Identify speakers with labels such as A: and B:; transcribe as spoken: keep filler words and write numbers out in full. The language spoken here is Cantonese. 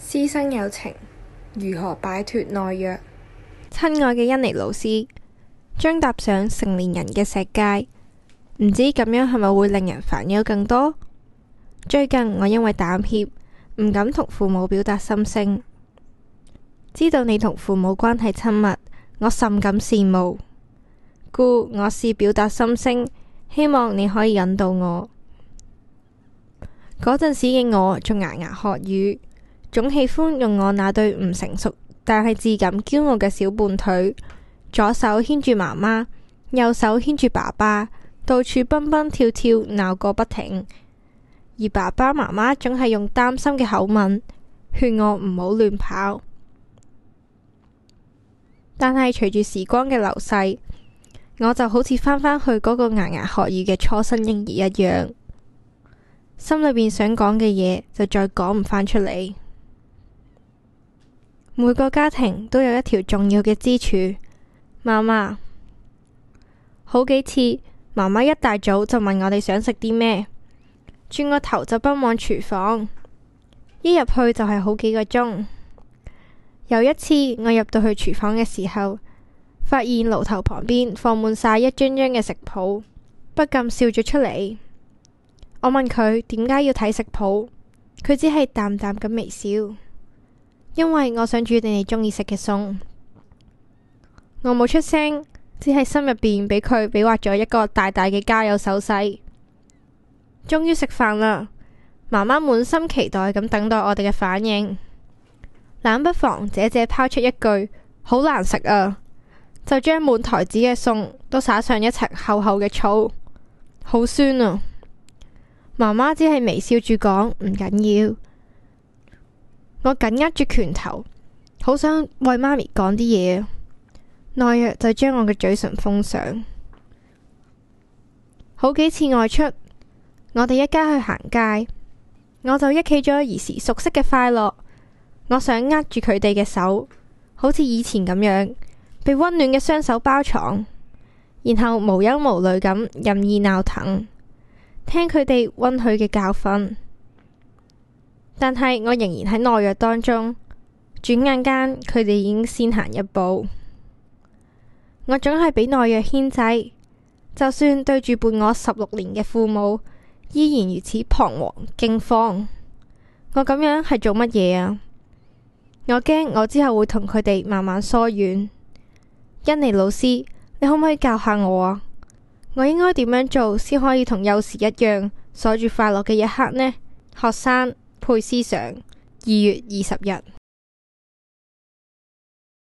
A: 師生有情，如何擺脫懦弱？
B: 親愛嘅恩妮老師，將踏上成年人嘅石階，唔知咁樣係咪會令人煩憂更多？最近我因為膽怯，唔敢同父母表達心聲。知道你同父母關係親密，我甚感羨慕，故我試表達心聲，希望你可以引導我。嗰陣時嘅我仲牙牙學語，總喜歡用我那對唔成熟但係自感驕傲嘅小胖腿，左手牽住媽媽，右手牽住爸爸，到處蹦蹦跳跳鬧個不停。而爸爸媽媽總係用擔心嘅口吻勸我唔好亂跑。但係隨住時光嘅流逝，我就好似返返去嗰個牙牙學語嘅初生嬰兒一樣，心裏邊想講嘅嘢就再講唔返出嚟。每個家庭都有一條重要嘅支柱，媽媽。好幾次，媽媽一大早就問我哋想食啲咩，轉個頭就奔往廚房，一入去就係好幾個鐘。有一次，我入到去廚房嘅時候，發現爐頭旁邊放滿晒一張張嘅食譜，不禁笑咗出嚟。我問佢點解要睇食譜，佢只係淡淡咁微笑，因為我想煮你哋中意食嘅餸。我冇出聲，只係心入邊俾佢比劃咗一個大大嘅加油手勢。終於食飯啦，媽媽滿心期待咁等待我哋嘅反應。冷不防姐姐拋出一句好難食啊，就將滿台子嘅餸都灑上一層厚厚嘅醋，好酸啊！媽媽只係微笑住講唔緊要。我緊握住拳頭，好想為媽咪講啲嘢，懦弱就將我嘅嘴唇封上。好幾次外出，我哋一家去行街，我就憶起咗兒時熟悉嘅快樂。我想握住佢哋嘅手，好似以前咁樣，被溫暖嘅雙手包藏，然後無憂無慮咁任意鬧騰，聽佢哋溫煦嘅教訓。但係我仍然喺懦弱當中，轉眼間佢哋已經先行一步。我總係俾懦弱牽制，就算對住伴我十六年嘅父母，依然如此彷徨驚慌。我咁樣係做乜嘢啊？我驚我之後會同佢哋慢慢疏遠。恩妮老師，你可唔可以教下我啊？我應該點樣做先可以同幼時一樣鎖住快樂嘅一刻呢？學生佩斯上，二月二十日。